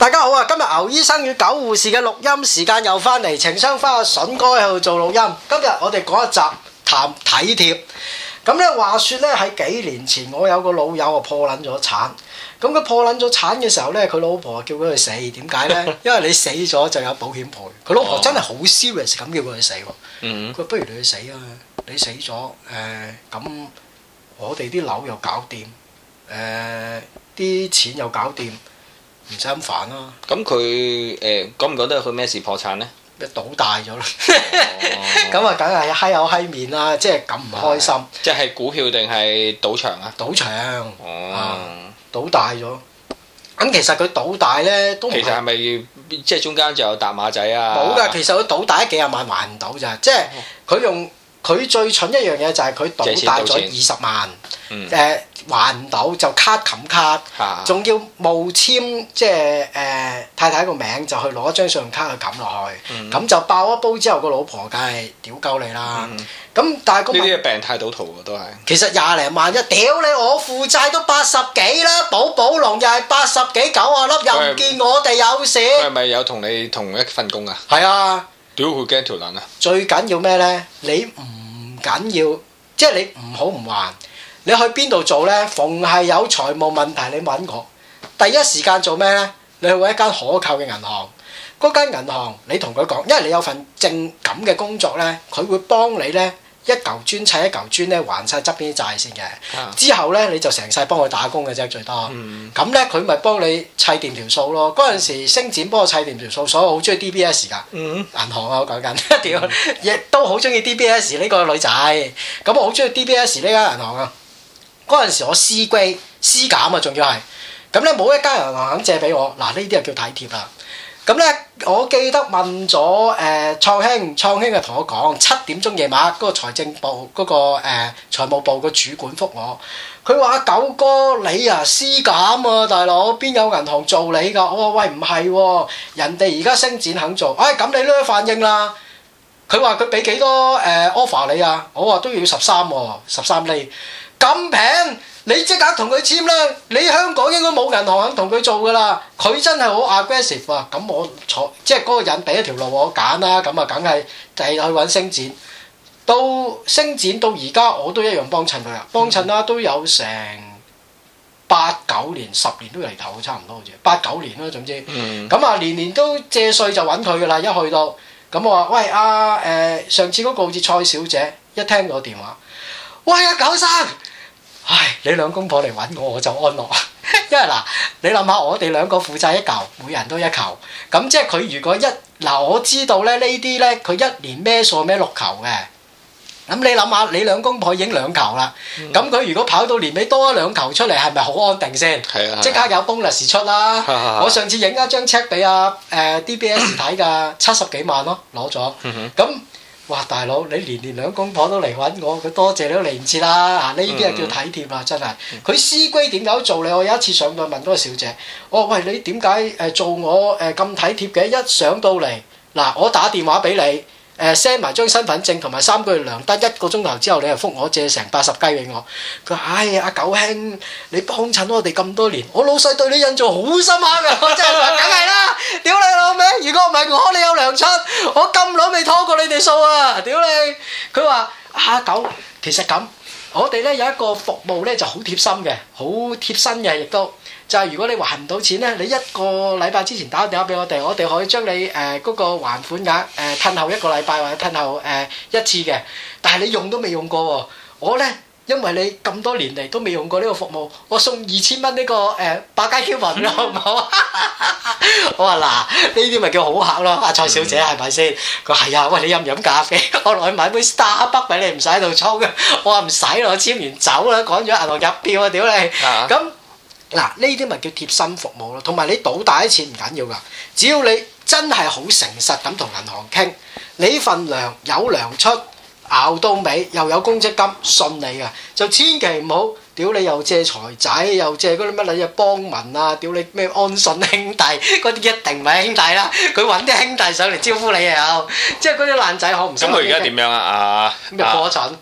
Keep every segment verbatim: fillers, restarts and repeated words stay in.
大家好啊！今日牛醫生與狗護士嘅錄音時間又翻嚟，情商花阿筍哥喺度做錄音。今日我哋講一集談體貼。咁咧話說咧喺幾年前，我有個老友啊破撚咗產。咁佢破撚咗產嘅時候咧，佢老婆叫佢去死。點解咧？因為你死咗就有保險賠。佢老婆真係好 serious 咁叫佢去死喎。嗯。佢話不如你去死啊！你死咗誒咁，我哋啲樓又搞掂，誒啲錢又搞掂。唔使咁煩啦。咁佢誒覺唔覺得佢咩事破產咧？ 賭大咗啦，咁啊梗係閪口閪面啦，即係咁唔開心。 即係股票定係賭場啊？ 賭場。 哦。 啊、賭大咗。咁其實佢賭大咧都唔係。其實係咪即係中間就有搭馬仔啊？ 冇㗎，其實佢賭大幾廿萬還唔到咋，即係佢用佢最蠢一樣嘢就係佢賭大咗二十萬。誒、呃、還唔到就卡冚卡，仲要冒簽即係誒、呃、太太個名就去攞一張信用卡去冚落去，咁、嗯、就爆一煲之後個老婆梗係屌鳩你啦。咁、嗯、但係個呢啲係病態賭徒喎都係。 其實廿零萬一屌你，我負債都八十幾啦，寶寶龍又係八十幾九啊粒，又唔見我哋有事。 佢係咪有同你同一份工啊？ 係啊。 屌佢驚條撚啊！ 最緊要咩咧？你唔緊要，即係你唔好唔還。你去邊度做呢？逢係有財務問題，你揾我。第一時間做咩呢？你去揾一間可靠嘅銀行。嗰間銀行你同佢講，因為你有份正咁嘅工作呢，佢會幫你呢一嚿磚砌一嚿磚呢還晒側邊啲債先嘅。啊、之後呢，你就成世幫佢打工嘅啫，最多。咁、嗯、呢，佢咪幫你砌掂條數咯。嗰陣時星展幫我砌掂條數，所以我好中意 D B S 㗎。嗯、銀行啊，我講緊，屌，亦都好中意 D B S 呢個女仔。咁我好中意 D B S 呢間銀行啊。嗰陣時我 C grade C 減啊，仲要係咁咧，冇一間銀行肯借俾我。嗱，呢啲就叫體貼啦。咁咧，我記得問咗誒、呃、創興，創興就同我講七點鐘夜晚嗰個財政部嗰、嗰個誒、呃、財務部個主管覆我，佢話九哥你啊 C 減啊，大佬邊有銀行做你㗎？我話喂唔係喎，人哋而家星展肯做，哎咁你呢反應啦。佢話佢俾幾多誒、呃、offer 你啊？我話都要十三喎，十三厘。咁平，你即刻同佢簽啦！你香港應該冇銀行肯同佢做噶啦，佢真係好 aggressive 啊！咁我坐即係嗰個人俾一條路我揀啦，咁啊梗係第日去揾星展。到星展到而家我都一樣幫襯佢啊，幫襯啦都有成八九年、十年都嚟頭，差唔多好似八九年啦，總之。咁啊、嗯、年年都借稅就揾佢噶啦，一去到咁我話喂阿誒、呃、上次嗰個好似蔡小姐，一聽到電話，喂阿、啊、九生。唉，你兩公婆嚟揾我，我就安樂。因為嗱，你諗下，我哋兩個負債一嚿，每人都一嚿。咁即係佢如果一嗱，我知道咧呢啲咧，佢一年孭數孭六球嘅。咁你諗下，你兩公婆已經兩球啦。咁佢、嗯、如果跑到年尾多一兩球出嚟，係咪好安定先？係啊。即刻有 bonus 出啦！啊、我上次影一張 check 俾阿誒 D B S 睇㗎，七十幾萬咯，攞咗。咁、嗯哼。哇！大佬，你年年兩公婆都嚟揾我，佢多謝你都嚟唔切啦！啊，呢啲係叫體貼啦，真係。佢 C 歸點解做你？我有一次上到問嗰個小姐，我話喂，你點解誒做我誒咁體貼嘅？一上到嚟嗱，我打電話俾你。誒 send 埋張身份證同埋三個月糧單，一個鐘頭之後你又覆我借成八十雞俾我。佢話：唉，阿九兄，你幫襯我哋咁多年，我老細對你印象好深刻㗎。我真係話，梗係啦！屌你老味，如果唔係我，你有糧出，我咁耐未拖過你哋數啊！屌你！佢話：阿九，其實咁，我哋咧有一個服務咧就好貼心嘅，好貼身嘅，亦都。就係如果你還唔到錢咧，你一個禮拜之前打個電話俾我哋，我哋可以將你誒嗰、呃嗰個還款額誒褪後一個禮拜或者褪後誒、呃、一次嘅。但係你用都未用過喎，我咧因為你咁多年嚟都未用過呢個服務，我送二千蚊呢個誒百佳 coupon 好唔好啊？我話嗱，呢啲咪叫好客咯，阿蔡小姐係咪先？佢話係啊，喂，你飲唔飲咖啡？我落去買杯 Starbucks 俾你，唔使喺度沖嘅。我話唔使咯，我簽完走啦，趕咗銀行入票啊！屌你咁。嗱，呢啲咪叫貼身服務咯，同埋你賭大啲錢唔緊要噶，只要你真係好誠實咁同銀行傾，你份糧有糧出，熬到尾又有公積金，信你噶，就千祈唔好屌你又借財仔，又借嗰啲乜嘢幫民啊，屌你咩安信兄弟，嗰啲一定唔係兄弟啦，佢揾啲兄弟上嚟招呼你又有，即係嗰啲爛仔可唔想。咁佢而家點樣啊？啊， 咩破產？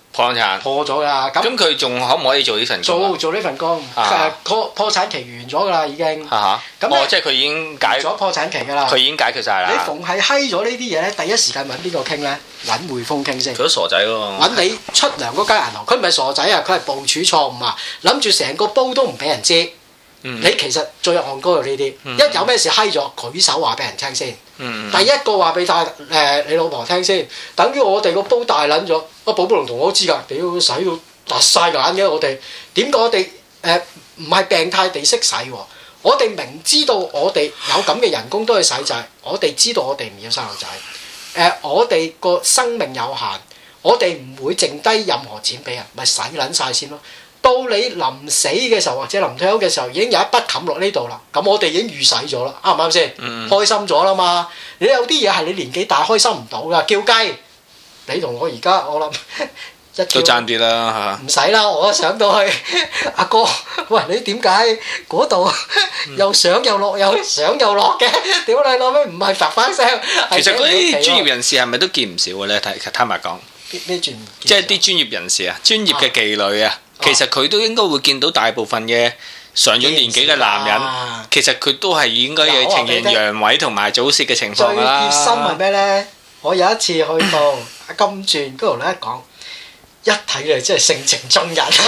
破產破咗㗎。 咁佢仲可唔可以做呢份工？ 做做呢份工，誒破破產期完咗㗎啦已經。 嚇嚇。咁哦，即係佢已經解咗破產期㗎啦。 佢已經解決晒啦。 你逢係閪咗呢啲嘢咧，第一時間揾邊個傾咧？揾匯豐傾先。 佢都傻仔喎。揾你出糧嗰間銀行，佢唔係傻仔啊，佢係部署錯誤啊，諗住成個煲都唔俾人知。嗯、你其實最戇居呢啲，嗯、一有咩事閪咗，舉手話俾人聽先。嗯、第一個話俾太誒你老婆聽先，等於我哋個煲大撚咗，阿寶寶龍同我都知㗎，屌洗到突晒眼嘅我哋，點解我哋誒唔係病態地識洗喎？我哋明知道我哋有咁嘅人工都去洗債，我哋知道我哋唔要生路仔，誒、呃、我哋個生命有限，我哋唔會剩低任何錢俾人，咪洗撚晒先咯。到你臨死嘅時候或者臨退休嘅時候，已經有一筆冚落呢度啦。咁我哋已經預洗咗啦，啱唔啱先？嗯、開心咗啦嘛。你有啲嘢係你年紀大開心唔到噶，叫雞。你同我而家我諗一都爭啲啦嚇。 唔使啦，我上到去阿哥，喂你點解嗰度又上又落又上又落嘅？屌你老味，唔係發翻聲。 其實嗰啲專業人士係咪都見唔少嘅咧？睇坦白講， 咩專？ 即係啲專業人士啊，專業嘅妓女啊。其實佢都應該會見到大部分嘅上咗年紀嘅男人，啊、其實佢都係應該有呈現陽痿同埋早泄嘅情況啦。 最貼心係咩呢？我有一次去到金鑽嗰度咧講。一睇嚟真係性情中人，佢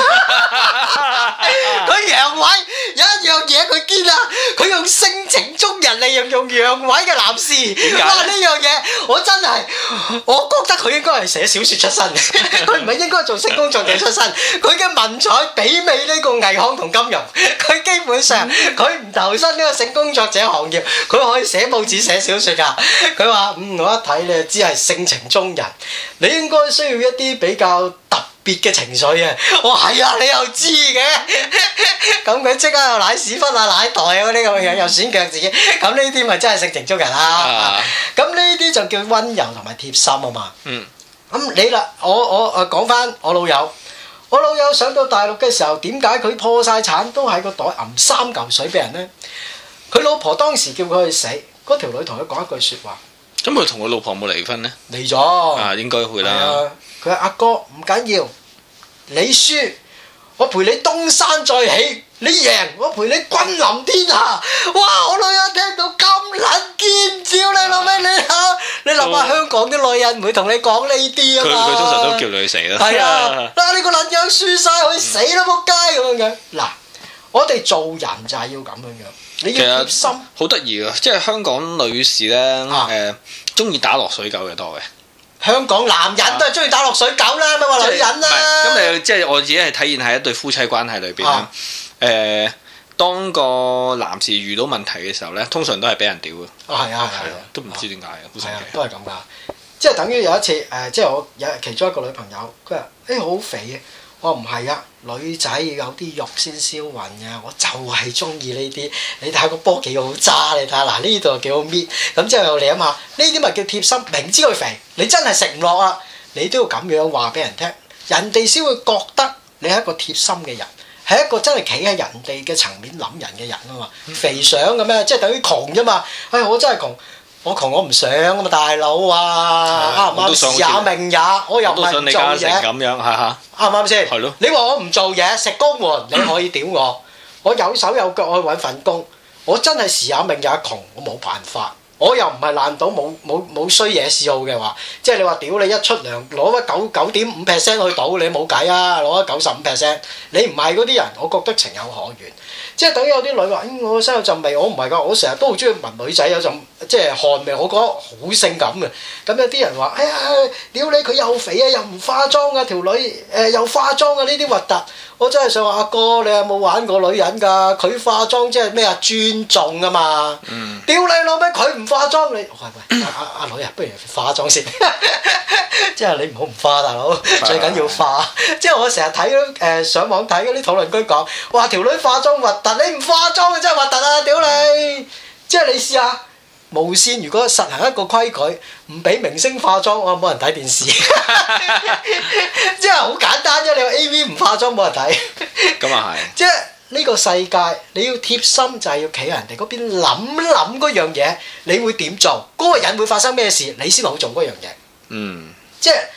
陽痿有一樣嘢佢堅啊！佢用性情中人嚟形容陽痿嘅男士。點解？哇！呢樣嘢我真係，我覺得佢應該係寫小説出身，佢唔係應該做性工作者出身。佢嘅文采媲美呢個藝行同金融，佢基本上佢唔投身呢個性工作者行業，佢可以寫報紙寫小説㗎。佢話：嗯，我一睇你就知係性情中人，你應該需要一啲比較特別嘅情緒啊！我係啊，你又知嘅，咁佢即刻又舐屎忽啊、舐袋啊嗰啲咁嘅樣，又選腳趾，咁呢啲咪真係性情中人啦！咁呢啲就叫溫柔同埋貼心啊嘛。嗯。咁你啦，我我誒講翻我老友，我老友上到大陸嘅時候，點解佢破晒產都喺個袋揞三嚿水俾人呢？佢老婆當時叫佢去死，嗰條女同佢講一句説話。 咁佢同佢老婆冇離婚呢？ 離咗。啊，應該會啦。佢話：阿哥唔緊要，你輸，我陪你東山再起；你贏，我陪你君臨天下。哇！我女人聽到咁撚尖叫，你老味你嚇，你諗下香港啲女人唔會同你講呢啲啊嘛。 佢佢通常都叫你去死啦。 係啊，嗱你個撚樣輸曬，去死啦仆街咁樣樣。嗱，我哋做人就係要咁樣樣。你要貼心， 好得意啊！即係香港女士咧，誒中意打落水狗嘅多嘅。 香港男人都係中意打落水狗啦，咪話、啊、女人啦。 咁你即係我自己係體現喺一對夫妻關係裏邊咧。誒、啊呃，當個男士遇到問題嘅時候咧，通常都係俾人屌嘅。啊，係啊，係啊，啊都唔知點解嘅，好神奇。都係咁噶，即係等於有一次誒、呃，即係我有其中一個女朋友，佢話：誒好肥嘅。我唔係啊，女仔要有啲肉先銷魂啊！我就係中意呢啲。你睇下個波幾好揸，你睇下嗱呢度幾好搣。咁之後又嚟啊嘛，呢啲咪叫貼心。明知佢肥，你真係食唔落啊！你都要咁樣話俾人聽，人哋先會覺得你係一個貼心嘅人，係一個真係企喺人哋嘅層面諗人嘅人啊嘛。肥相嘅咩？即係等於窮啫嘛。唉、哎，我真係窮。我窮我唔想啊嘛，大佬啊，啱唔啱？時也命也，我又唔係唔做嘢。咁樣嚇嚇，啱唔啱先？係咯。你話我唔做嘢食公援，你可以屌我。我有手有腳，我去揾份工。我真係時也命也窮，我冇辦法。我又唔係爛到冇冇冇衰嘢嗜好嘅話，即係你話屌你一出糧攞咗九九點五 percent 去賭，你冇計啊！攞咗九十五 percent，你唔係嗰啲人，我覺得情有可原。即係等於有啲女話：嗯，我身有陣味，我唔係㗎，我成日都好中意聞女仔有陣即係汗味，我覺得好性感嘅。咁有啲人話：哎呀，屌你佢又肥啊，又唔化妝啊，條女誒、呃、又化妝啊，呢啲核突。我真係想話阿哥，你有冇玩過女人㗎？佢化妝即係咩啊？尊重啊嘛！嗯、屌你老味，佢唔化妝你，喂喂，阿阿阿女啊，不如化妝先。即係你唔好唔化，大佬最緊要化。即係我成日睇誒上網睇嗰啲討論區講，哇條女化妝核突，你唔化妝真係核突啊！屌你！即係你試下無線，如果實行一個規矩，唔俾明星化妝，我冇人睇電視。即係好簡單啫，你話 A V 唔化妝冇人睇。咁啊係。即係呢個世界，你要貼心就係要企喺人哋嗰邊諗諗嗰樣嘢，你會點做？嗰個人會發生咩事，你先好做嗰樣嘢。嗯。即係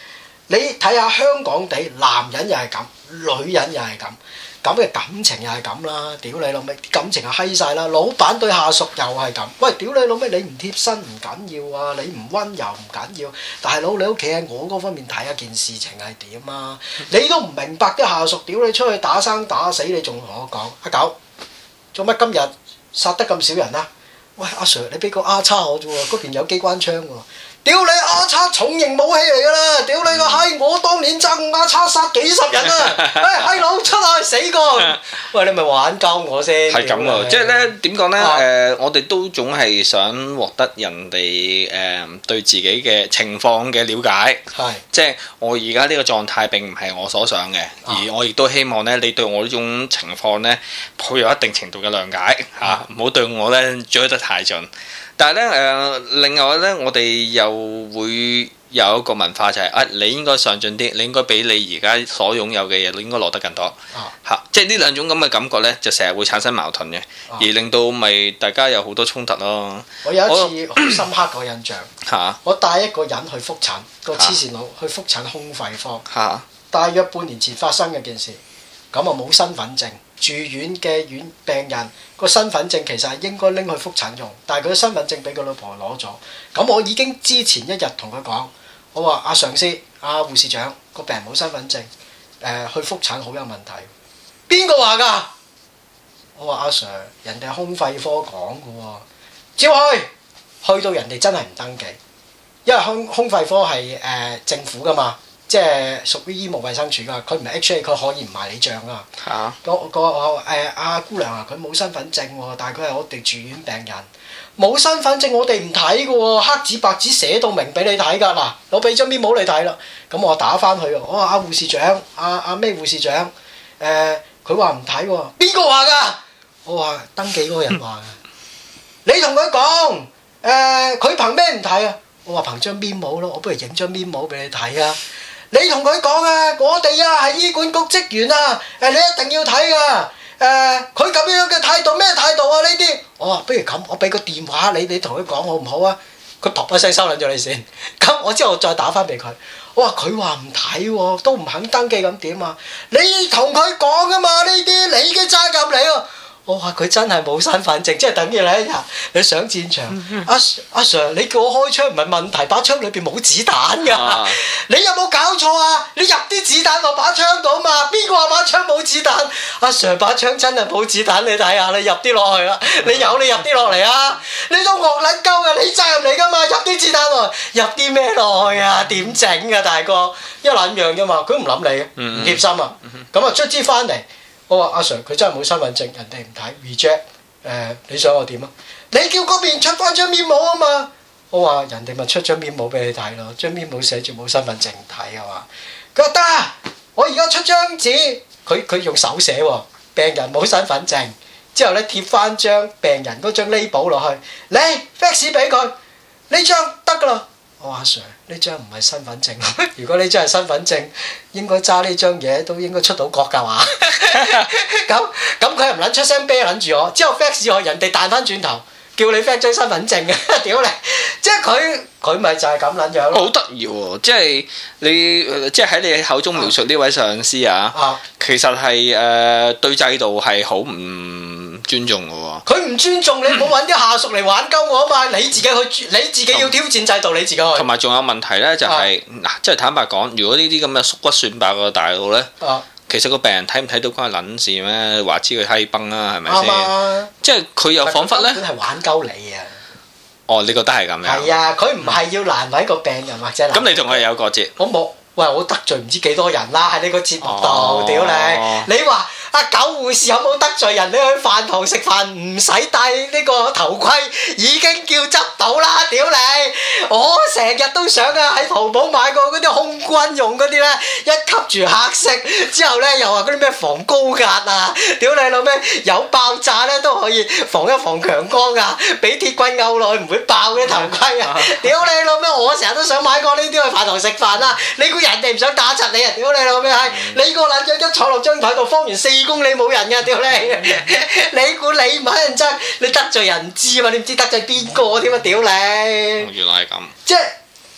你睇下香港地，男人又係咁，女人又係咁，咁嘅感情又係咁啦。屌你老味，啲感情係閪晒啦。老闆對下屬又係咁。喂，屌你老味，你唔貼身唔緊要啊，你唔溫柔唔緊要。大佬你屋企喺我嗰方面睇一件事情係點啊？你都唔明白啲下屬，屌你出去打生打死，你仲同我講阿狗做乜今日殺得咁少人啊？喂阿 Sir， 你俾個 R 叉我啫喎，嗰邊有機關槍喎。屌你 R 叉重型武器嚟㗎啦！屌你個閪！我當年揸 R 叉殺幾十人啊！哎閪佬出去死過！喂，你咪玩鳩我先。係咁喎， 即係咧點講咧？誒、啊呃，我哋都總係想獲得人哋誒、呃、對自己嘅情況嘅了解。係是。即係我而家呢個狀態並唔係我所想嘅，啊、而我亦都希望咧，你對我呢種情況咧抱有一定程度嘅諒解嚇，唔好、啊啊、對我咧追得太盡。但係咧誒，另外咧，我哋又會有一個文化就係、是、啊，你應該上進啲，你應該比你而家所擁有嘅嘢，你應該攞得更多嚇、啊啊。即係呢兩種咁嘅感覺咧，就成日會產生矛盾嘅，啊、而令到咪大家有好多衝突咯。 我有一次好深刻個印象嚇，啊、我帶一個人去覆診，個黐線佬去覆診胸肺科嚇，啊、大約半年前發生嘅件事，咁啊冇身份證。住院嘅院病人個身份證其實係應該拎去覆診用，但係佢身份證俾佢老婆攞咗。咁我已經之前一日同佢講，我話阿上司、阿護士長個病人冇身份證，誒、呃、去覆診好有問題。邊個話㗎？我話阿 Sir， 人哋胸肺科講㗎喎，照去，去到人哋真係唔登記，因為胸胸肺科係誒、呃、政府㗎嘛。即係屬於醫務衛生署㗎，佢唔係 H A， 佢可以唔賣你帳啊！嚇！個個誒阿姑娘啊，佢冇身份證喎，但係佢係我哋住院病人，冇身份證我哋唔睇㗎喎，黑紙白紙寫到明俾你睇㗎嗱，我俾張面冇你睇啦，咁我打翻去，我話阿護士長，阿阿咩護士長，誒佢話唔睇喎，邊個話㗎？我話登記嗰個人話㗎，你同佢講，誒佢憑咩唔睇啊？我話憑張面冇咯，我不如影張面冇俾你睇啊！你同佢講啊，我哋啊係醫管局職員啊，誒你一定要睇噶，誒佢咁樣嘅態度咩態度啊呢啲？我話不如咁，我俾個電話你，你同佢講好唔好啊？佢噗一聲收撚咗你先，咁我之後再打翻俾佢，我話佢話唔睇喎，都唔肯登記咁點啊？你同佢講噶嘛呢啲，你嘅責任嚟喎。我話佢真係冇身份證，即係等於你一日你上戰場，阿阿 Sir 你叫我開槍唔係問題，把槍裏邊冇子彈㗎，啊、你有冇搞錯啊？你入啲子彈落把槍度嘛？邊個話把槍冇子彈？阿 Sir 把槍真係冇子彈，你睇下你入啲落去啦，你有你入啲落嚟啊！你都惡撚鳩㗎，你責任嚟㗎嘛？入啲子彈落，入啲咩落去啊？點整啊大哥？一撚樣啫嘛，佢唔諗你嘅，唔貼心啊！咁啊卒之翻嚟。我話阿 Sir 佢真係冇身份證，人哋唔睇 reject，誒你想我點啊？你叫嗰邊出翻張面簿啊嘛！我話人哋咪出張面簿俾你睇咯，張面簿寫住冇身份證唔睇啊嘛！佢話得，我而家出張紙，佢佢用手寫喎，病人冇身份證，之後咧貼翻張病人嗰張 label 落去，你 fax 俾佢，呢張得㗎啦。我話阿 Sir 呢張唔係身份證，如果呢張係身份證，應該揸呢張嘢都應該出到國㗎嘛？咁咁佢又唔撚出聲啤撚住我，之後 fax 我，人哋彈翻轉頭叫你 fax 張身份證嘅，屌你！即係佢佢咪就係咁撚樣咯。好得意喎！即係你即係喺你口中描述呢位上司啊，啊其實係誒、呃、對制度係好唔尊重嘅喎。佢唔尊重你，唔好揾啲下屬嚟玩鳩我啊嘛！你自己去，你自己要挑戰制度，你自己去。同埋仲有問題咧，就係、是、嗱，即係、啊、坦白講，如果呢啲咁嘅縮骨算白嘅大佬咧。啊其實個病人睇唔睇到關佢撚事咩？話知佢閪崩啦，係咪先？吧即係佢又彷彿咧，根本係玩鳩你啊！哦，你覺得係咁樣？係啊，佢唔係要難為個病人或者難。咁你同佢有過節？我冇，喂，我得罪唔知幾多人啦！喺呢個節目度，屌、哦、你！你話阿狗護士有冇得罪人？你去飯堂食飯唔使戴呢個頭盔，已經叫執到啦！屌你！我成日都想啊，喺淘寶買過嗰啲空軍用嗰啲咧，一吸住黑色之後咧，又話嗰啲咩防高壓啊！屌你老味，有爆炸咧都可以防一防強光啊！俾鐵棍勾落去唔會爆嘅頭盔啊！屌你老味，我成日都想買過呢啲去飯堂食飯啦！你估人哋唔想打柒你啊？屌你老味係你個撚樣一坐落張台度，方圓四公里冇人㗎！屌你！你估你唔係人憎，你得罪人唔知啊嘛？你唔知得罪邊個添啊？屌你！原來係咁。即係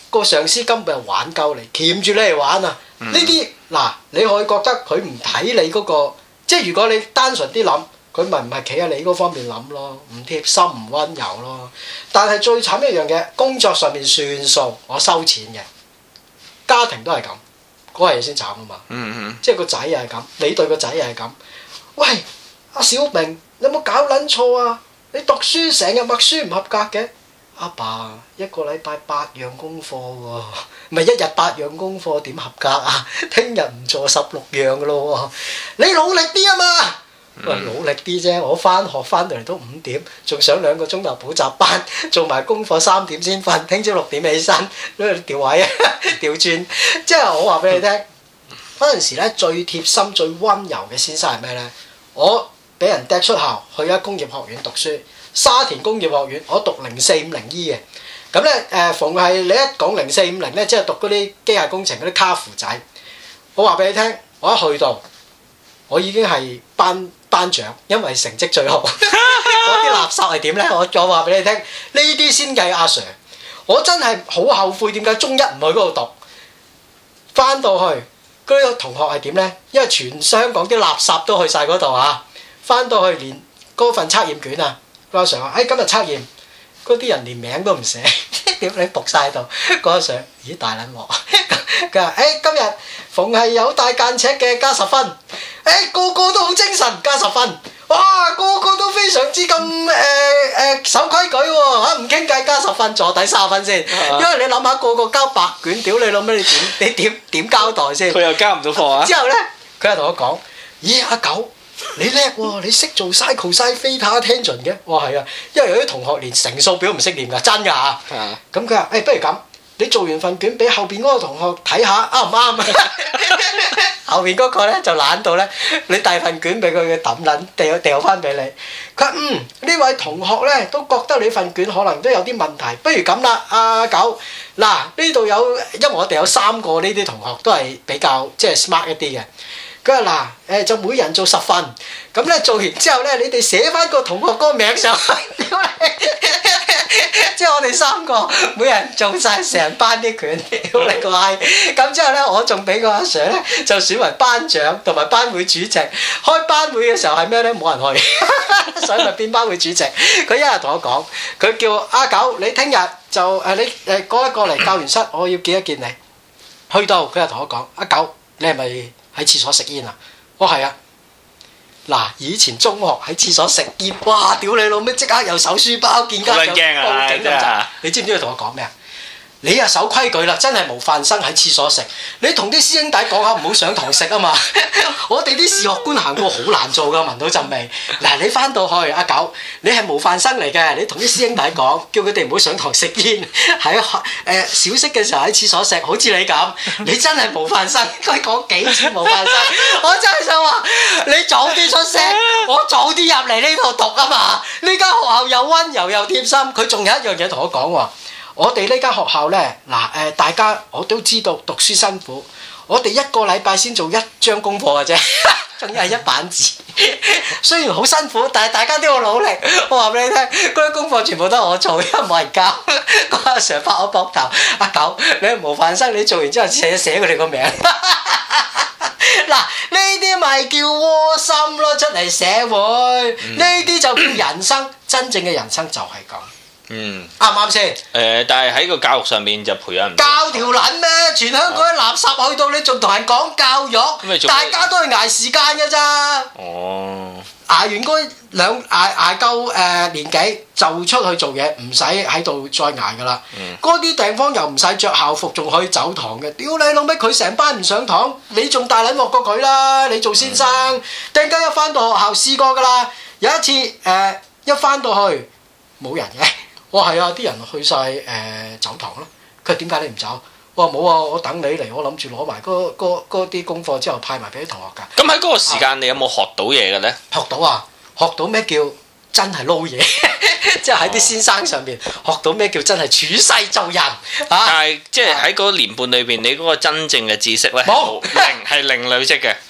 個上司根本係玩鳩你，鉗住你嚟玩啊！呢啲嗱，你可以覺得佢唔睇你嗰個，即係如果你單純啲諗，佢咪唔係企喺你嗰方面諗咯，唔貼心唔溫柔咯。但係最慘一樣嘢，工作上面算數，我收錢嘅，家庭都係咁，嗰樣嘢先慘啊嘛。嗯嗯。即係個仔又係咁，你對個仔又係咁。喂，阿小明，你有冇搞撚錯啊？你讀書成日默書唔合格嘅。阿爸一個禮拜八樣功課喎，咪一日八樣功課點合格啊？聽日唔做十六樣噶咯喎，你努力啲啊嘛！喂，努力啲啫，我翻學翻到嚟都五點，仲上兩個鐘頭補習班，做埋功課三點先瞓，聽朝六點起身，喺度調位啊，調轉。即係我話俾你聽，嗰陣時咧最貼心、最溫柔嘅先生係咩咧？我俾人掟出校去咗工業學院讀書。沙田工業學院，我讀零四五零 E 嘅，咁咧誒，逢係你一講零四五零咧，即係讀嗰啲機械工程嗰啲卡符仔。我話俾你聽，我一去到，我已經係班班長，因為成績最好。嗰啲垃圾係點咧？我我話俾你聽，呢啲先計阿 Sir。我真係好後悔點解中一唔去嗰度讀。翻到去嗰啲同學係點咧？因為全香港啲垃圾都去晒嗰度啊！翻到去連嗰份測驗卷啊！阿 Sir 話：，誒今日測驗，嗰啲人連名都唔寫，點你仆曬喺度？嗰阿 Sir，咦大撚鑊！佢話：，誒今日逢係有帶間尺嘅加十分，誒個個都好精神加十分，哇個個都非常之咁誒誒守規矩喎嚇，唔傾偈加十分，坐底三十分先。因為你諗下個個交白卷，屌你老味，你點你點點交代先？ 佢又交唔到貨啊！ 之後咧，佢又同我講：，咦阿九。你叻喎！你識做 cycle sine theta tangent 嘅？我話係啊，因為有啲同學連乘數表唔識念㗎，真㗎嚇。咁佢話：誒，不如咁，你做完份卷俾後邊嗰個同學睇下，啱唔啱啊？後邊嗰個咧就懶到咧，你遞份卷俾佢，佢抌撚掉掉翻俾你。佢話：嗯，呢位同學咧都覺得你份卷可能都有啲問題，不如咁啦，阿九，嗱呢度有，因為我哋有三個呢啲同學都係比較即係 smart 一啲嘅。佢話嗱，誒就每人做十份，咁咧做完之後咧，你哋寫翻個同學嗰個名上去，即係我哋三個每人做晒成班啲卷，屌你個閪！咁之後咧，我仲俾個阿 Sir 咧就選為班長同埋班會主席。開班會嘅時候係咩咧？冇人去，所以咪變班會主席。佢一日同我講，佢叫阿九，你聽日就誒你誒過一過嚟教員室，我要見一見你。去到佢又同我講，阿九，你係咪喺廁所食煙啊？我係啊！嗱，以前中學喺廁所食煙，哇！屌你老味，即刻又搜書包，見家長報警咁滯。你知唔知佢同我講咩啊？你啊守規矩啦，真係模範生喺廁所食。你同啲師兄弟講下唔好上堂食啊嘛！我哋啲視學官行過好難做噶，聞到陣味。嗱，你翻到去阿九，你係模範生嚟嘅，你同啲師兄弟講，叫佢哋唔好上堂食煙，喺誒小息嘅時候喺廁所食，好似你咁，你真係模範生。佢講幾次模範生，我真係想話你早啲出聲，我早啲入嚟呢度讀啊嘛！呢間學校又溫柔又貼心，佢仲有一樣嘢同我講喎。我哋呢間學校呢，嗱誒，大家我都知道讀書辛苦，我哋一個禮拜先做一張功課嘅啫，仲要係一版字。雖然好辛苦，但係大家都要努力。我話俾你聽，嗰啲功課全部都係我做，因為冇人教。個阿 Sir 拍我膊頭，阿九，你係模範生，你做完之後寫寫佢哋個名。嗱，呢啲咪叫窩心咯，出嚟社會，呢啲、嗯、就叫人生，真正嘅人生就係咁。嗯，啱唔啱先？誒、 呃，但係喺個教育上面就培養唔到。 教條撚咩？全香港啲垃圾去到你仲同人講教育，大家都係捱時間㗎咋。哦。捱完嗰兩捱捱夠誒年紀就出去做嘢，唔使喺度再捱㗎啦。嗰啲、嗯、地方又唔使着校服，仲可以走堂嘅。屌你老味，佢成班唔上堂，你仲大撚鑊過佢啦！你做先生，突然間一翻到學校試過㗎啦。有一次誒、呃，一翻到去冇人嘅。我係、哦、啊，啲人去晒誒、呃、走堂咯。佢話點解你唔走？我話冇啊，我等你嚟，我諗住攞埋嗰啲功課之後派埋俾啲同學㗎。咁喺嗰個時間，啊、你有冇學到嘢嘅咧？學到啊！學到咩叫真係撈嘢？即係喺啲先生上邊學到咩叫真係處世做人。啊、但係即係喺嗰年半裏邊，你嗰個真正嘅知識咧，冇零係零累積嘅。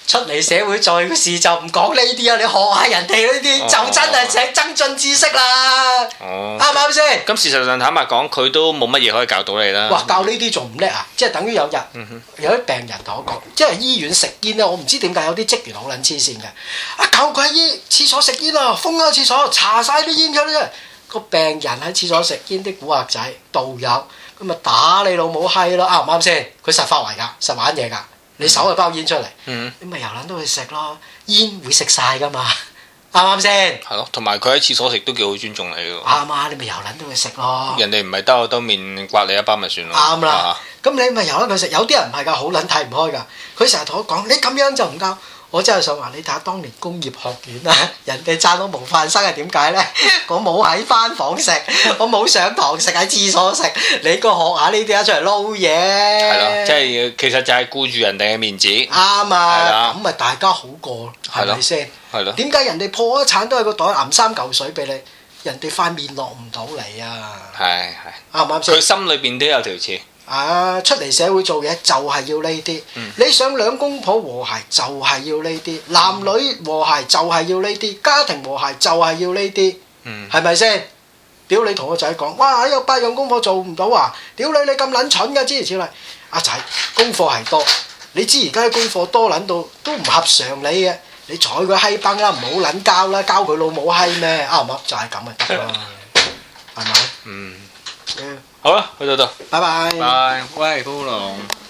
出嚟社會做事就唔講呢啲啊！你學下人哋呢啲，就真係請增進知識啦。哦，啱唔啱先？ 咁事實上坦白講，佢都冇乜嘢可以教到你啦。 哇！教呢啲仲唔叻啊？即係等於有日有啲病人同我講，即係醫院食煙咧，我唔知點解有啲職員好撚黐線嘅。啊！舊鬼醫廁所食煙啊，封咗廁所，搽晒啲煙出嚟。個病人喺廁所食煙，啲古惑仔道友咁咪打你老母閪咯！啱唔啱先？佢實發圍㗎，實玩嘢㗎。你手就包煙出嚟，嗯、你咪由撚都去食咯，煙會食晒噶嘛，啱唔啱先？係咯，同埋佢喺廁所食都幾好尊重你㗎。 啱啊，你咪由撚都去食咯。 人哋唔係兜口兜面刮你一包咪算咯。啱啦， 咁你咪由撚佢食。有啲人唔係㗎，好撚睇唔開㗎。佢成日同我講：你咁樣就唔教。我真係想話你睇下當年工業學院啊，人哋讚我模範生係點解呢？我冇喺返房食，我冇上堂食，喺廁所食。你個學下呢啲啊，出嚟撈嘢。係咯， 即係其實就係顧住人哋嘅面子。 啱啊，咁咪大家好過，係咪先？ 係咯。點解人哋破咗產都係個袋揞三嚿水俾你，人哋塊面落唔到嚟啊？係係。啱唔啱先？ 佢心裏邊都有條刺。 啊！出嚟社會做嘢就係要呢啲，嗯、你想兩公婆和諧就係要呢啲，男女和諧就係要呢啲，家庭和諧就係要呢啲，係咪先？屌你同個仔講，哇！有八樣功課做唔到啊！屌你你咁撚蠢㗎，諸如此類。阿仔功課係多，你知而家啲功課多撚到都唔合常理嘅，你睬佢閪崩啦，唔好撚交啦，交佢老母閪咩？啱唔啱？就係咁咪得咯，係咪？嗯。好啦，去到度，拜拜。拜，喂，高龍。